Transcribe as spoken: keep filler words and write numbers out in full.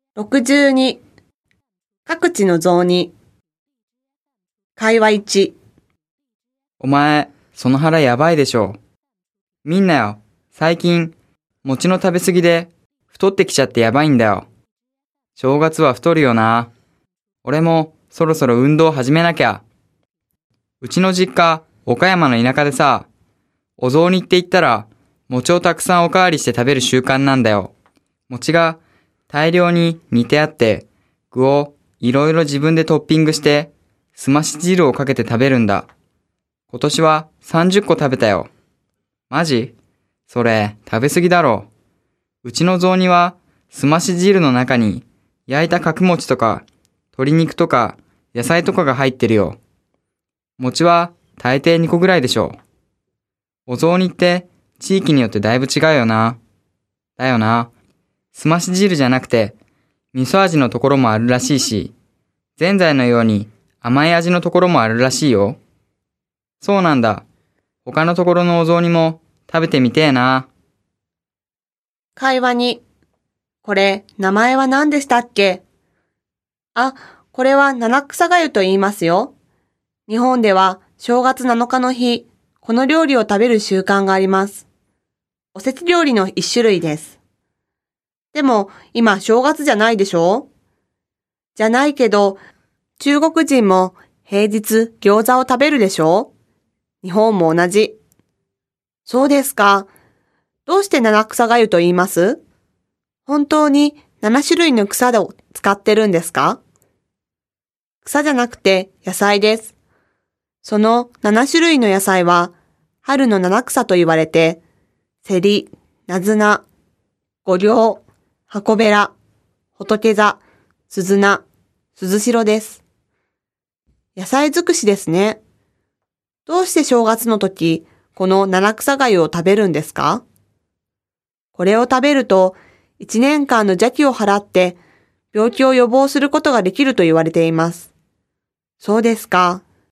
ろくじゅうに、各地の雑煮。会話いち。 お前、その腹やばいでしょ。みんなよ、最近、餅の食べ過ぎで、太ってきちゃってやばいんだよ。正月は太るよな。俺も、そろそろ運動始めなきゃ。うちの実家、岡山の田舎でさ、お雑煮って言ったら、餅をたくさんおかわりして食べる習慣なんだよ。餅が大量に煮てあって、具をいろいろ自分でトッピングして、すまし汁をかけて食べるんだ。今年はさんじゅっこ食べたよ。マジ？それ食べ過ぎだろ。うちの雑煮はすまし汁の中に焼いた角餅とか鶏肉とか野菜とかが入ってるよ。餅は大抵にこぐらいでしょ。お雑煮って地域によってだいぶ違うよな。だよな。すまし汁じゃなくて味噌味のところもあるらしいし、ぜんざいのように甘い味のところもあるらしいよ。そうなんだ。他のところのお雑煮も食べてみてえな。 会話に。これ、名前は何でしたっけ？あ、これは七草がゆと言いますよ。日本では正月なのかの日、この料理を食べる習慣があります。おせち料理の一種類です。でも、今正月じゃないでしょ？じゃないけど、中国人も平日餃子を食べるでしょ？日本も同じ。そうですか。どうして七草がゆと言います？本当に七種類の草を使ってるんですか？草じゃなくて野菜です。その七種類の野菜は春の七草と言われて、セリ、ナズナ、五稜、箱べら、仏座、鈴菜、鈴代です。野菜尽くしですね。どうして正月の時、この七草がゆを食べるんですか？これを食べると、一年間の邪気を払って、病気を予防することができると言われています。そうですか。